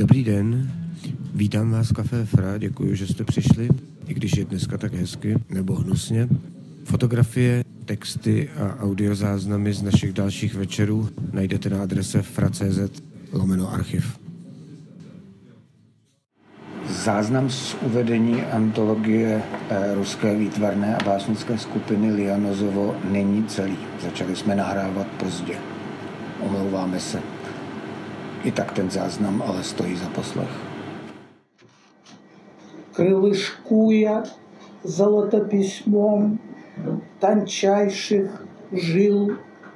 Dobrý den, vítám vás v Café Fra, děkuji, že jste přišli, i když je dneska tak hezky, nebo hnusně. Fotografie, texty a audiozáznamy z našich dalších večerů najdete na adrese fra.cz/archiv. Záznam z uvedení antologie ruské výtvarné a básnické skupiny Lianozovo není celý. Začali jsme nahrávat pozdě. Omlouváme se. I tak ten záznam ale stojí za poslech. Крылышкуя золотописьмом тончайших жил,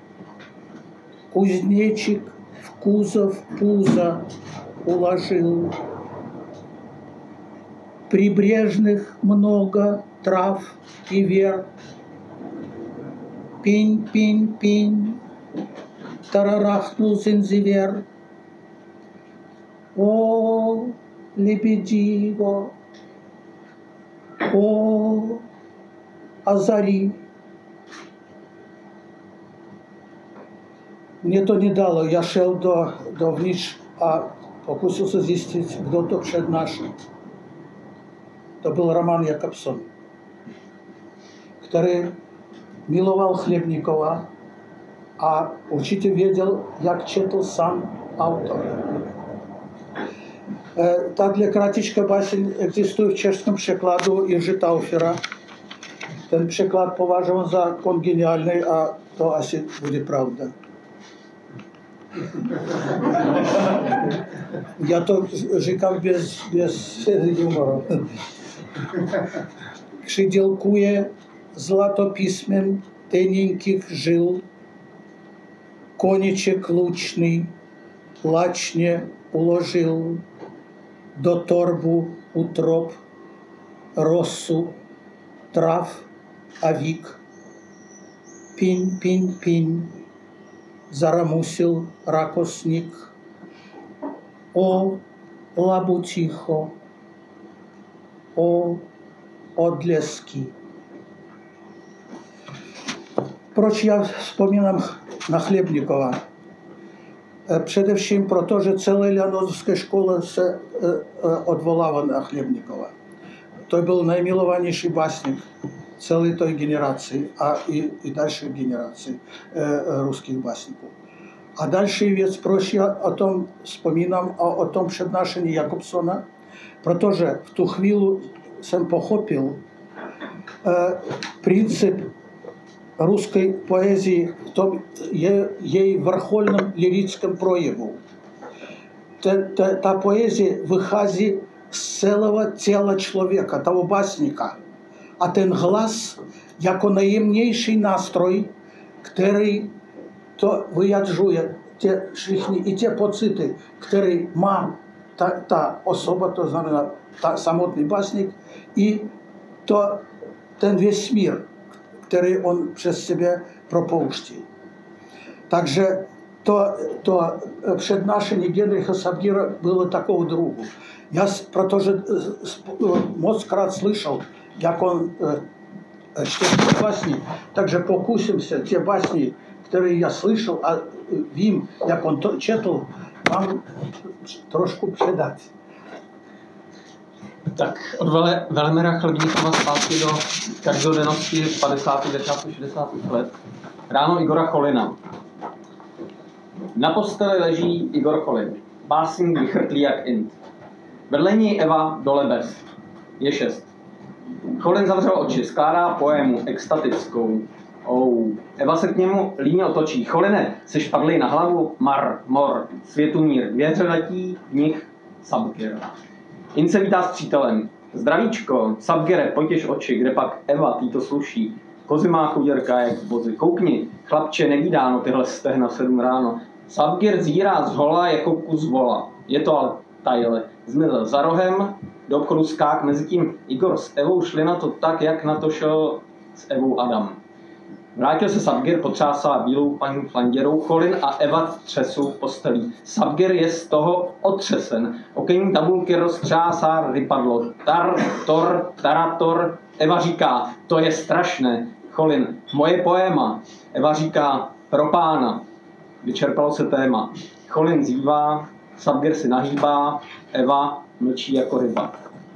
кузнечик в кузов пузо уложил. Прибрежных много трав и вер. Пень, пень, пень, тарарахнул зензивер. О, лебедиво, о, озари. Мне to nedalo. Já šel dovnitř a pokusil se zjistit, kdo to přednášel. To byl Roman Jakobson, který miloval Chlebníkova a určitě věděl, jak četl sám autor. Tahle kratička báseň existuje v českém překladu Jiří Taufera. Ten překlad považuji za kongeniální a to asi bude pravda. Já to říkám bez humoru. Přidělkuje zlatopísmem teněnkých žil, koneček lučný lačně uložil do torbu utrop rosu, trav a vík. Piň, piň, piň, zaramusil rakosník. O labutícho, o odlesky. Proč já vzpomínám na Chlebníkova? Především proto, že celé Lianozovské školy se odvolává na Chlebníkova. To byl nejmilovanější básník celé té generaci a i další generaci ruských básníků. A další věc, proč já o tom vzpomínám a o tom přednášení Jakobsona, protože v tu chvíli jsem pochopil princip ruské poezii v tom její vrcholném lyrickém projevu. Ta poezie vychází z celého těla člověka, toho básníka. A ten hlas jako nejjemnější nástroj, který to vyjadřuje i ty pocity, které má ta osoba, to znamená samotný básník, i ten vesmír, který on přes sebe propouští. Takže to přednášení Gedricha Savgíra bylo takovou druhu. Já, protože moc krát slyšel, jak on čte básni, takže pokusím se ty básni, které já slyšel a vím, jak on to četl, vám trošku předat. Tak od Velemira Chlebníkova zpátky do každodennosti 50. 60. let. Ráno Igora Cholina. Na posteli leží Igor Cholin. Básník vychrtlý jak int. Vedle ní Eva dole bez. Je 6. Cholin zavřel oči, skládá poému extatickou. Eva se k němu líně otočí. Choline, jsi špadlej na hlavu? Mar, mor, světumír, věře letí, v nich Sabgir. In se vítá s přítelem. Zdravíčko, Sabgere, pojďeš oči, kde pak Eva, tý to sluší. Kozy má chuděrka jak vozy. Koukni, chlapče, nevídáno tyhle stehna 7 ráno. Sabgir zírá z hola jako kus vola. Je to ale tajle. Zmizel za rohem, do obchodu skák, mezitím Igor s Evou šli na to tak, jak na to šel s Evou Adam. Vrátil se Sabgir, potřásá bílou paní flanděrou, Cholin a Eva třesou postelí. Sabgir je z toho otřesen. Okenní tabulky roztřásá, vypadlo. Tarator. Eva říká, to je strašné. Cholin, moje poéma. Eva říká, pro pána. Vyčerpalo se téma. Cholin zývá, Sapgir si nahýbá, Eva mlčí jako ryba.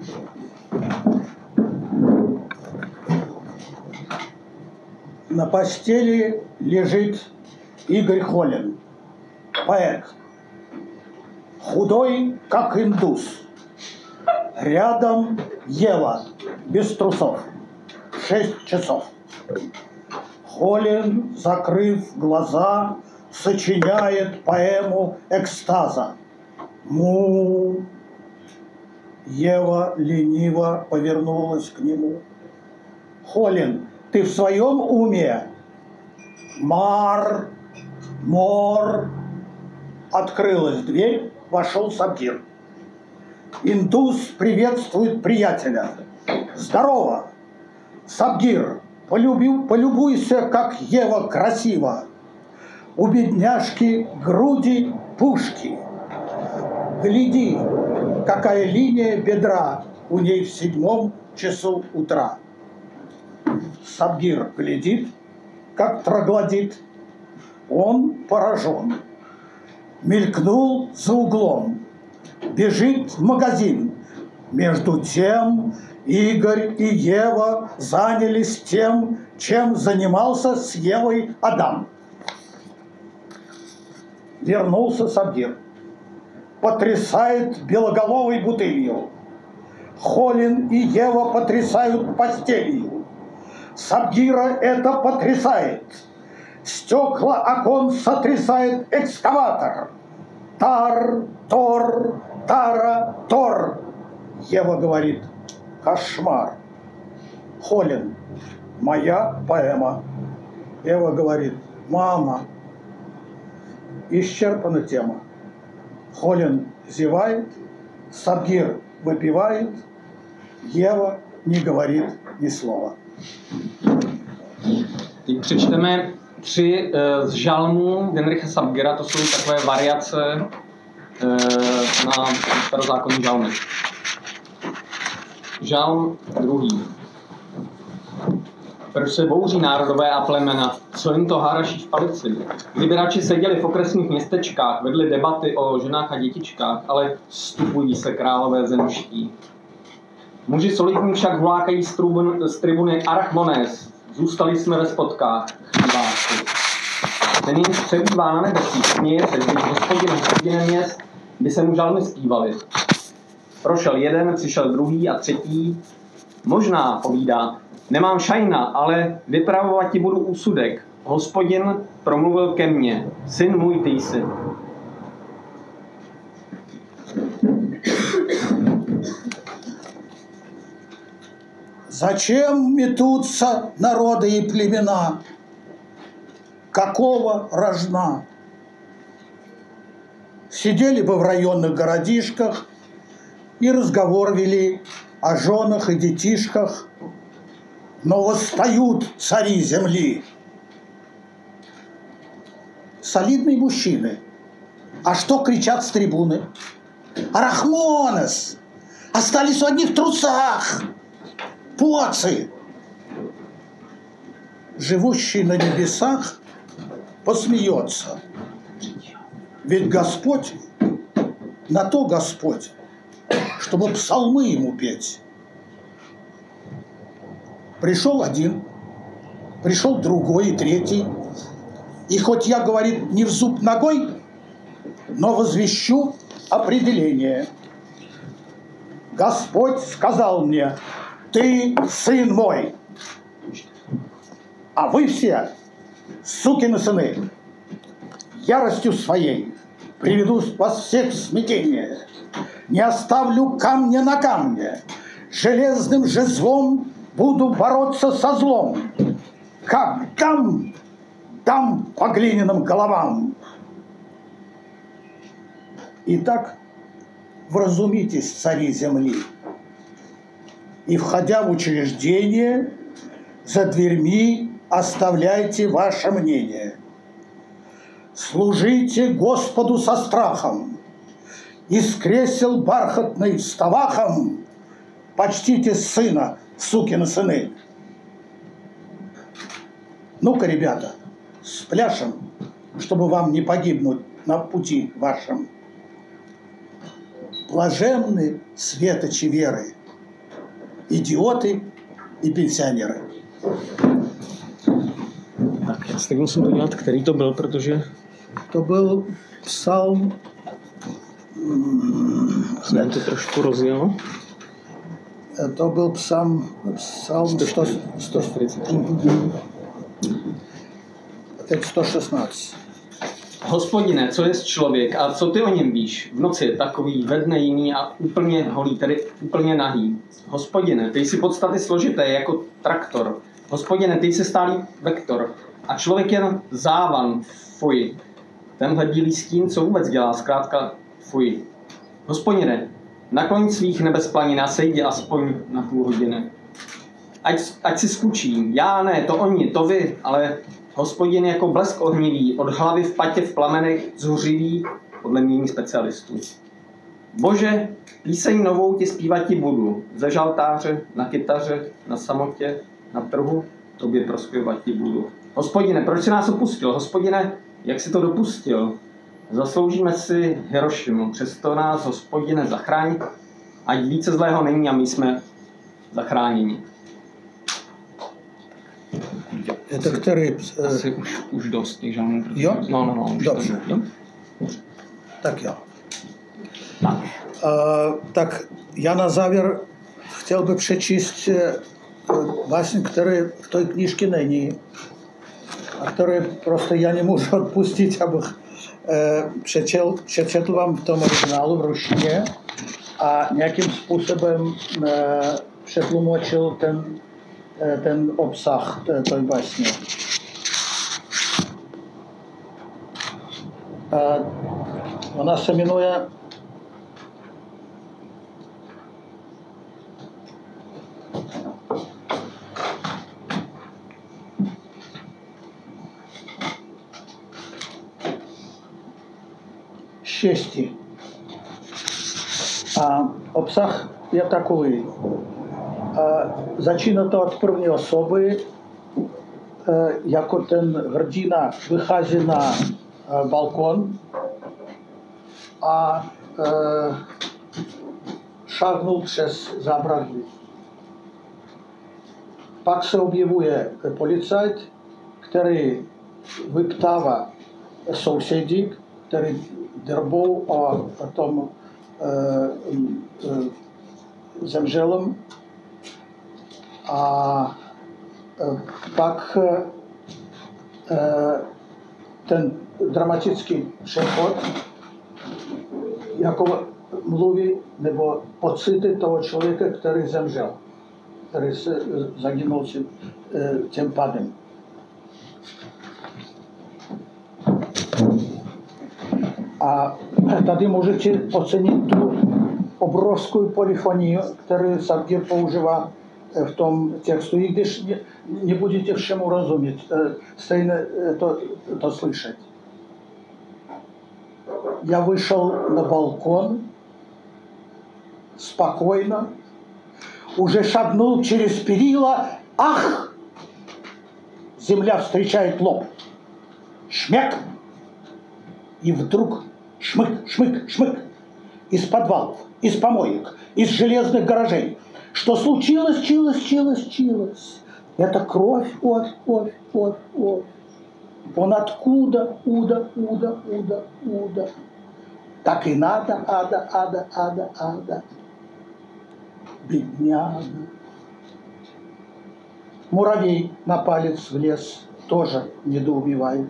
На постели лежит Игорь Холин, поэт. Худой, как индус. Рядом Ева, без трусов. 6 часов. Холин, закрыв глаза, сочиняет поэму экстаза. Му. Ева лениво повернулась к нему. Холин, ты в своем уме? Мар, мор. Открылась дверь, вошел Сабгир. Индус приветствует приятеля. Здорово! Сабгир, полюбуйся, как Ева красива. У бедняжки груди пушки. Гляди, какая линия бедра у ней в 7 часу утра. Сабгир глядит, как троглодит. Он поражен. Мелькнул за углом. Бежит в магазин. Между тем Игорь и Ева занялись тем, чем занимался с Евой Адам. Вернулся Сабгир. Потрясает белоголовой бутылью. Холин и Ева потрясают постелью. Сабгира это потрясает. Стекла окон сотрясает экскаватор. Тар, тор, тара, тор. Ева говорит: кошмар. Холин: моя поэма. Ева говорит: мама. Исчерпана тема. Холин зевает, Сабгир выпивает, Ева не говорит ни слова. Teď přečteme 3 z žalmů Genricha Sapgira, to jsou takové variace na starozákonní žalmy. Žalm 2. Proč se bouří národové a plemena, co jim to haraší v palici? Kdyby radši seděli v okresních městečkách, vedli debaty o ženách a dětičkách, ale stupují se králové zemští. Muži solidní však vlákají z tribuny Arachmones, zůstali jsme ve spotkách, chýbáci. Ten jim přebývá na nebesích, směje se, když hospodinem měst by se mu žalmy zpívali. Prošel jeden, přišel druhý a třetí. Možná, povídá, nemám šajna, ale vypravovat ti budu úsudek. Hospodin promluvil ke mně, syn můj ty jsi. Зачем метутся народы и племена? Какого рожна? Сидели бы в районных городишках и разговор вели о женах и детишках, но восстают цари земли. Солидные мужчины. А что кричат с трибуны? Арахмонес! Остались в одних трусах! Поцы! Живущий на небесах посмеется. Ведь Господь, на то Господь, чтобы псалмы ему петь. Пришел один, пришел другой и третий. И хоть я, говорит, не в зуб ногой, но возвещу определение. Господь сказал мне: ты сын мой, а вы все сукины сыны. Яростью своей приведу вас всех в смятение. Не оставлю камня на камне. Железным жезлом буду бороться со злом. Как дам по глиняным головам. Итак, вразумитесь, цари земли, и, входя в учреждение, за дверьми оставляйте ваше мнение. Служите Господу со страхом, из кресел бархатный вставахом почтите сына, сукины сыны. Ну-ка, ребята, спляшем, чтобы вам не погибнуть на пути вашем. Блаженны светочи веры, идиоты и пенсионеры. Tak, já si musím podívat, který to byl, protože To byl psalm, jsem to trošku rozjel. to byl psalm 140. teď 116. Hospodine, co je člověk a co ty o něm víš? V noci je takový, ve dne jiný a úplně holý, tedy úplně nahý. Hospodine, ty jsi podstaty složité jako traktor. Hospodine, ty jsi stálý vektor. A člověk jen závan, fuj. Tenhle bílý stín, co vůbec dělá, zkrátka fuj. Hospodine, nakloň svých nebes planin a sejdi aspoň na půl hodiny. Ať si skučím, já ne, to oni, to vy, ale Hospodin jako blesk ohnivý, od hlavy v patě v plamenech zuřivý, podle mění specialistů. Bože, píseň novou ti zpívat ti budu, ze žaltáře, na kytaře, na samotě, na trhu, tobě prospěvat ti budu. Hospodine, proč jsi nás opustil? Hospodine, jak jsi to dopustil? Zasloužíme si Hirošimu, přesto nás, Hospodine, zachraň, ať více zlého není a my jsme zachráněni. Это který? Asi už dost těch žánrů. Jo? No. Dobře. Jo? Tak jo. Tak. Tak já na závěr chtěl bych přečíst básně, které v té knížce není a které prostě já nemůžu odpustit, abych přečetl vám v tom originálu v ruštině a nějakým způsobem přetlumočil ten obsah té básně. Ona se jmenuje Štěstí. A obsah je takový. Začíná to od první osoby, jako ten hrdina vychází na balkon a šáhnul přes zábradlí. Pak se objevuje policajt, který vyptává sousedí, který drbou o tom zemřelém. A pak ten dramatický přechod jako mluví nebo pocity toho člověka, který zemřel, který se zagynul tím pádem. A tady můžete ocenit tu obrovskou polyfonii, kterou Savgir používá v tom textu, i když nebudete všemu rozumět, stejně to slyšet. Я вышел на балкон, спокойно, уже шагнул через перила, ах! Земля встречает лоб. Шмяк! И вдруг шмык, шмык, шмык. Из подвалов, из помоек, из железных гаражей. Что случилось, чилось. Это кровь, кровь. Он откуда, уда. Так и надо, ада. Бедняга. Муравей на палец влез, тоже недоумевает.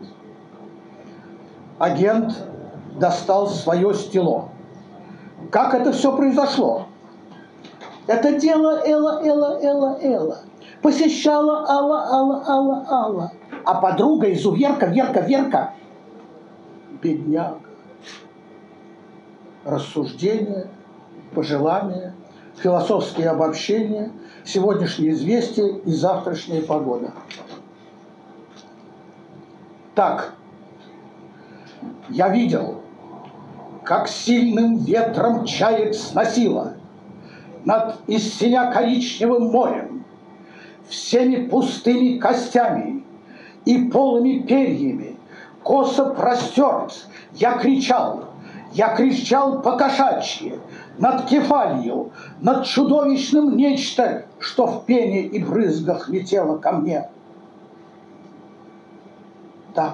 Агент достал свое стело. Как это все произошло? Это дело Элла. Посещала Алла. А подруга изуверка, Верка. Бедняга. Рассуждения, пожелания, философские обобщения, сегодняшние известия и завтрашняя погода. Так, я видел, как сильным ветром чаек сносило над из синя-коричневым морем, всеми пустыми костями и полыми перьями, косо простерт, я кричал, Я кричал по-кошачьи, над кефалью, над чудовищным нечто, что в пене и брызгах летело ко мне. Так,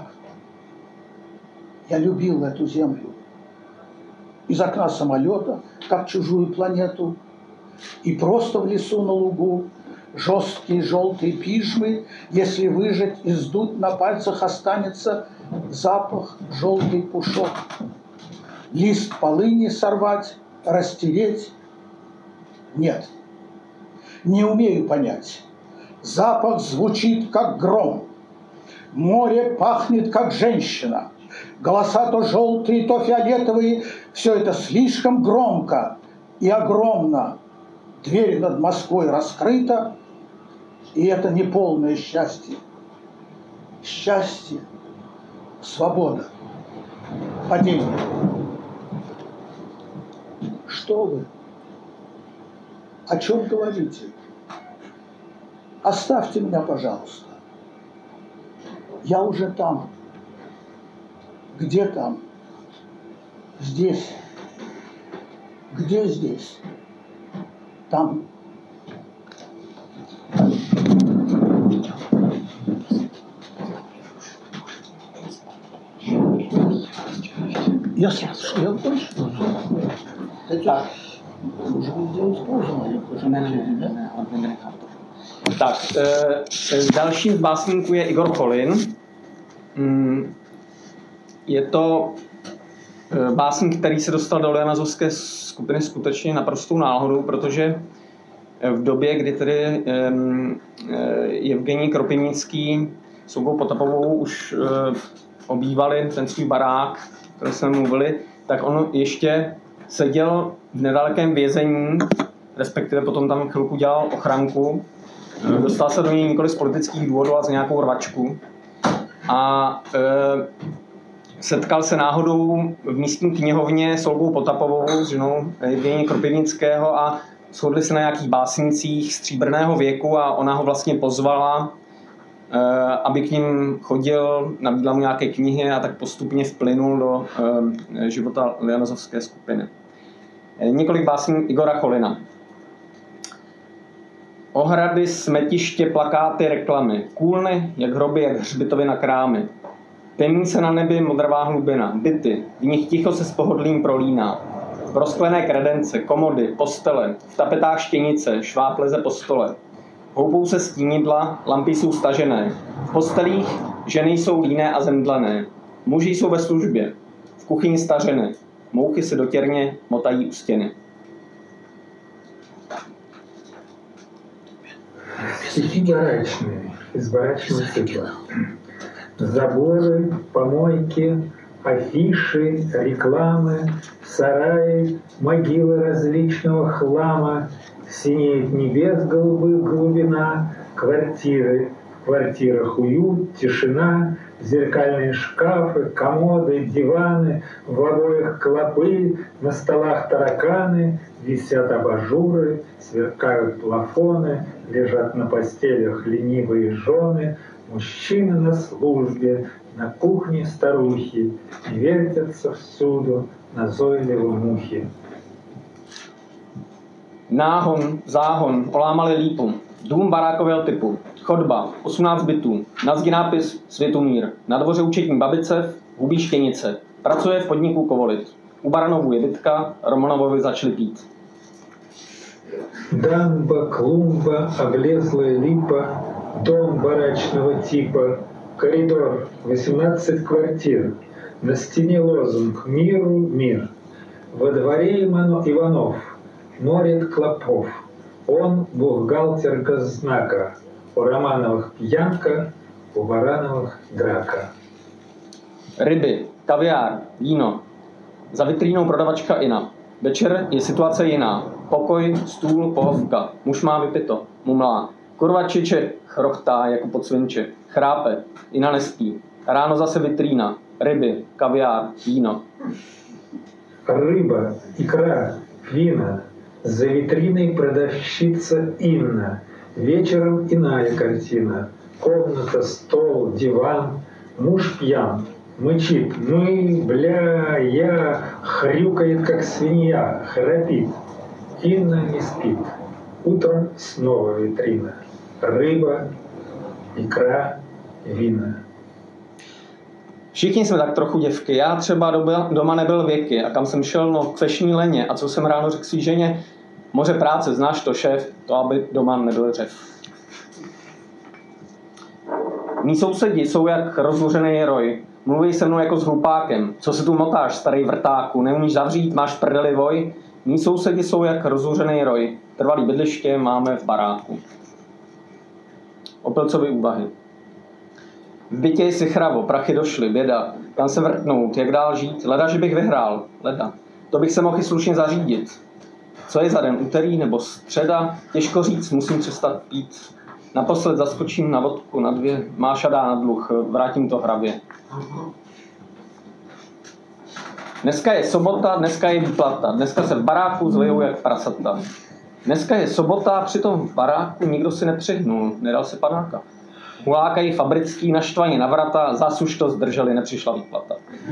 я любил эту землю. Из окна самолета, как чужую планету, и просто в лесу на лугу, жесткие желтые пижмы, если выжать и сдуть, на пальцах останется запах желтый пушок. Лист полыни сорвать, растереть? Нет, не умею понять. Запах звучит, как гром. Море пахнет, как женщина. Голоса то желтые, то фиолетовые. Все это слишком громко и огромно. Дверь над Москвой раскрыта, и это не полное счастье. Счастье, свобода, падение. Что вы? О чем говорите? Оставьте меня, пожалуйста. Я уже там. Где там? Здесь. Где здесь? Там. Я слышу, я точно. Это уже везде использовано. Tak, dalším z básníků je Igor Cholin. Je to básník, který se dostal do Lianozovské skupiny skutečně naprostou náhodou, protože v době, kdy tedy Evgenij Kropivnický s Olgou Potapovou už obývali ten svůj barák, o kterém jsme mluvili, tak on ještě seděl v nedalekém vězení, respektive potom tam chvilku dělal ochranku. Dostal se do něj nikoli z politických důvodů, ale z nějakou rvačku. A setkal se náhodou v místní knihovně s Olgou Potapovou, s ženou Evgenije Kropivnického, a shodli se na nějakých básnicích stříbrného věku a ona ho vlastně pozvala, aby k ním chodil, nabídla mu nějaké knihy a tak postupně vplynul do života Lianozovské skupiny. Několik básní Igora Cholina. Ohrady, smetiště, plakáty, reklamy, kůlny, jak hroby, jak hřbitovy na krámy. Temnice na nebi, modravá hlubina, byty, v nich ticho se s pohodlím prolíná. Rozklené kredence, komody, postele, v tapetách štěnice, šváb leze po stole. Houpou se stínidla, lampy jsou stažené. V postelích ženy jsou líné a zemdlené. Muži jsou ve službě, v kuchyni stařeny. Mouchy se dotěrně motají u stěny. Стихи барачные, из барачного цикла. Заборы, помойки, афиши, рекламы, сараи, могилы различного хлама, синеет небес голубых глубина, квартиры, в квартирах уют, тишина, зеркальные шкафы, комоды, диваны, в обоях клопы, на столах тараканы, висят абажуры, сверкают плафоны, лежат на постелях ленивые жены, мужчины на службе, на кухне старухи, вертятся всюду назойливо мухи. Náhon, záhon, olámali lípu, dům barákového typu, chodba, 18 bytů, na zdi nápis Světomír, na dvoře účetní babice, hubí štěnice, pracuje v podniku Kovolit. U Baranovu je bytka, Romanovovi začali pít. Дамба, клумба, облезлая липа, дом барачного типа, коридор, 18 квартир, на стене лозунг «Миру мир». Во дворе Иванов, морит клопов, он бухгалтер госзнака, у Романовых пьянка, у Барановых драка. Ryby, kaviár, víno, za vitrínou prodavačka Ina. Večer je situace jiná. Pokoj, stůl, pohovka. Muž má vypito, mumlá. Kurva čiče, chrochtá jako podsvinče. Chrápe, Ina nespí. Ráno zase vitrína. Ryby, kaviár, víno. Рыба, икра, вина. За витриной продавщица Инна. Вечером иная картина. Комната, стол, диван. Муж пьян. Мычит: мы, бля, я, хрюкает, как свинья, храпит. Инна не спит. Утром снова витрина. Рыба, икра, vina. Všichni jsme tak trochu děvky. Já třeba doma nebyl věky. A kam jsem šel? No k fešní leně. A co jsem ráno řekl svý ženě? Moře práce, znáš to, šéf? To, aby doma nebyl řev. Mí sousedi jsou jak rozluřený roj. Mluví se mnou jako s hlupákem. Co se tu motáš, starý vrtáku? Neumíš zavřít, máš v prdeli voj? Mí sousedi jsou jak rozluřený roj. Trvalý bydliště máme v baráku. Opilcovy úvahy. V bytě je si chravo, prachy došly, běda. Kam se vrtnout, jak dál žít? Leda, že bych vyhrál, leda. To bych se mohl i slušně zařídit. Co je za den, úterý nebo středa? Těžko říct, musím přestat pít. Naposled zaskočím na vodku, na 2, Máša dá na dluh, vrátím to hravě. Dneska je sobota, dneska je výplata. Dneska se v baráku zlijou jak prasata. Dneska je sobota, přitom v baráku nikdo si nepřihnul, nedal se panáka. Hulákají fabrický naštvaně na vrata, zas už to zdrželi, nepřišla výplata.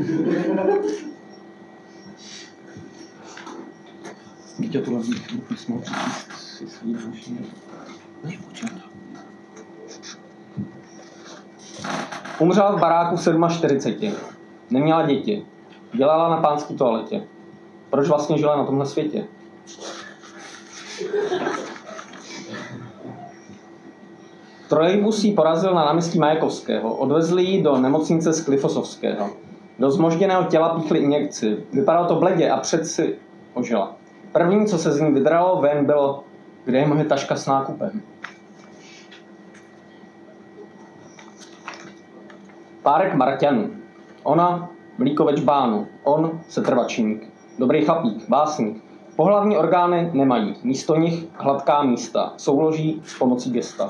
Víte, tohle bych mohl přečíst si svý další. Umřela v baráku v 47. Neměla děti. Dělala na pánské toaletě. Proč vlastně žila na tomhle světě? Trolejbus jí porazil na náměstí Majakovského. Odvezli ji do nemocnice z Klifosovského. Do zmožděného těla píchli injekci. Vypadalo to bledě a přeci ožila. První, co se z ní vydralo ven, bylo, kde je moje taška s nákupem. Párek Marťanů. Ona mlíko ve čbánu. On setrvačník. Dobrý chlapík, básník. Pohlavní orgány nemají. Místo nich hladká místa. Souloží s pomocí gesta.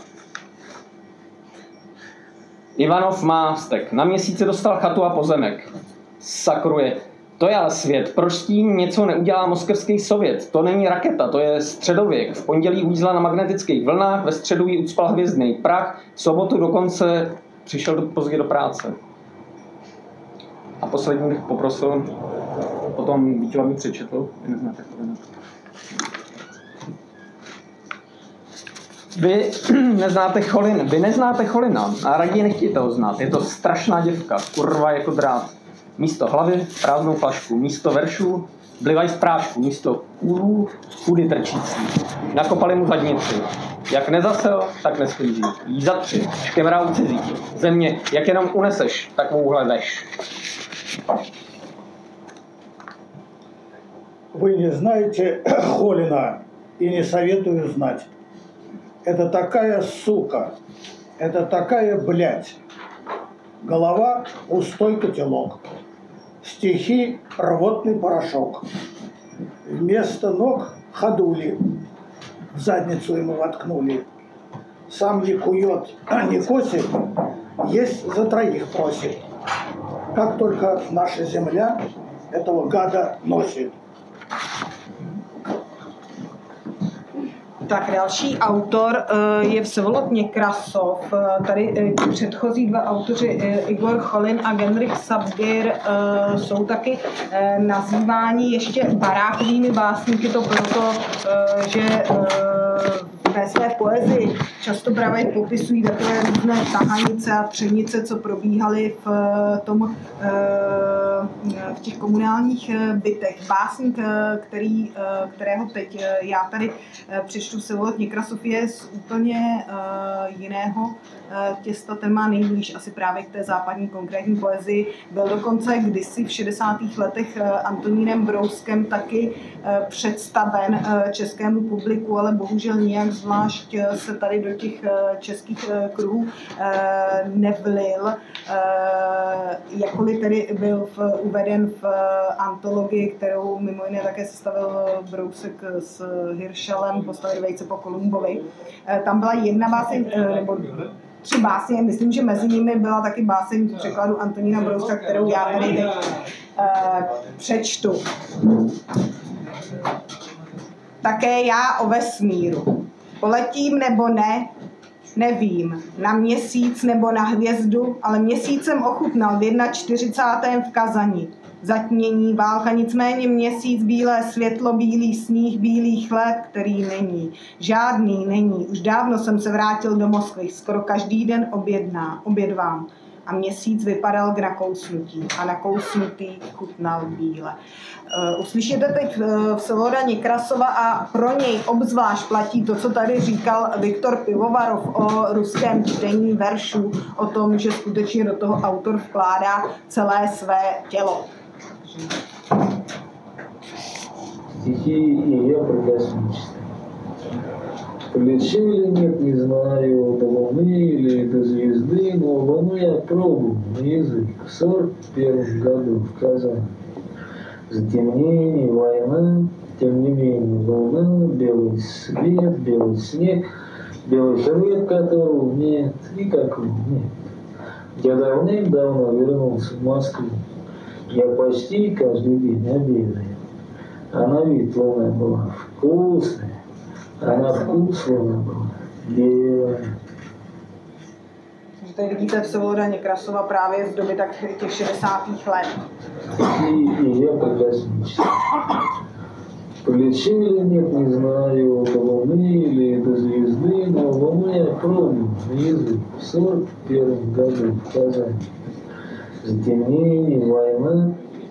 Ivanov má vztek. Na měsíci dostal chatu a pozemek. Sakruje. To je ale svět. Proč s tím něco neudělá moskevský sovět? To není raketa, to je středověk. V pondělí uvízla na magnetických vlnách, ve středu jí ucpal hvězdný prach, v sobotu dokonce přišel pozdě do práce. A poslední bych poprosil, potom Vítěva mi přečetl. Vy neznáte Cholina a raději nechtějte ho znát. Je to strašná děvka, kurva jako drát. Místo hlavy prázdnou flašku, místo veršů blivaj z prášku, místo kůlů kudy trčící. Nakopali mu zadnici. Jak nezasel, tak nesklízí. Jí za 3, škemrá cizí. Země, jak jenom uneseš, takovouhle veš. Вы не знаете Холина и не советую знать. Это такая сука, это такая блядь. Голова – пустой котелок. Стихи – рвотный порошок. Вместо ног – ходули. В задницу ему воткнули. Сам не кует, не косит, есть за 3 просит. Как только наша земля этого гада nosiť. Tak další autor je Vsevolod Někrasov. Tady předchozí 2 autoři, Igor Cholin a Genrich Sapir, jsou taky nazýváni ještě barákovými básníky, to proto, že ve své poezii často právě popisují takové různé tahanice a třenice, co probíhaly v těch komunálních bytech. Básník, kterého teď já tady přečtu, Vsevolod Někrasov, je z úplně jiného těsta, ten má nejblíž asi právě k té západní konkrétní poezii. Byl dokonce kdysi v 60. letech Antonínem Brouskem taky představen českému publiku, ale bohužel nijak zvlášť se tady do těch českých kruhů nevlil. Jakkoliv tedy byl uveden v antologii, kterou mimo jiné také sestavil Brousek s Hiršelem, postavili Vejce po Kolumbovi. Tam byla jedna báseň, nebo 3 básně, myslím, že mezi nimi byla taky báseň v překladu Antonína Brouska, kterou já tady teď přečtu. Také já o vesmíru. Poletím nebo ne, nevím. Na měsíc nebo na hvězdu, ale měsíc jsem ochutnal v 41. v Kazani. zatmění válka, nicméně měsíc, bílé světlo, bílý sníh, bílý chléb, který není. Žádný není. Už dávno jsem se vrátil do Moskvy, skoro každý den obědvám. A měsíc vypadal k nakousnutí a nakousnutý chutnal bíle. Uslyšíte teď Vsevolada Někrasova a pro něj obzvlášť platí to, co tady říkal Viktor Pivovarov o ruském čtení veršů, o tom, že skutečně do toho autor vkládá celé své tělo. Стихи и я прекрасно читаю. Полечу или нет, не знаю, до Луны или до звезды, но Луну я пробую на язык в 41 году в Казани. Затемнение, война, тем не менее, Луна, белый свет, белый снег, белый хлеб, которого нет, никакого нет. Я давным-давно вернулся в Москву. Я почти каждый день обедаю. А на вид луна была вкусная, а на вкус луна была белая. Tady vidíte Vsevolada Někrasova právě z doby tak těch 60. let. И я прекрасно читаю. Полечу или нет, не знаю, до Луны или до звезды, но Луну я пробую на язык в 41 году в Казани. Затемнение, война.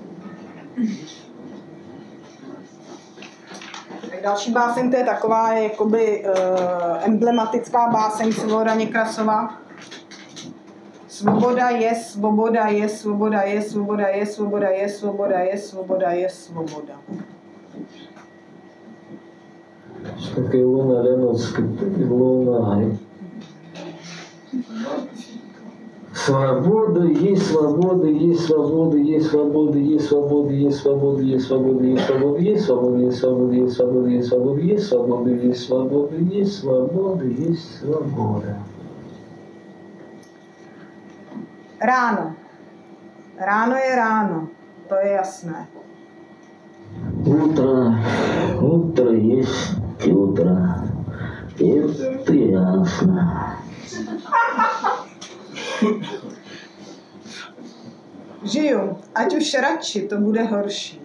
Další báseň, to je taková jakoby emblematická báseň Vsevolada Někrasova. Svoboda je, svoboda je, svoboda je, svoboda je, svoboda je, svoboda je, svoboda je, svoboda. Такая луна Леноцкая, луна. Свобода, есть свобода, есть свобода, есть свобода, есть свобода, есть свобода, есть свобода, есть свобода, есть свобода, есть свобода, есть свобода, есть свобода, есть свобода, есть свобода, есть свобода, есть свобода. Ráno. Ráno je ráno, to je jasné. Утро есть утро. Это ясно. Žiju, ať už radši, to bude horší.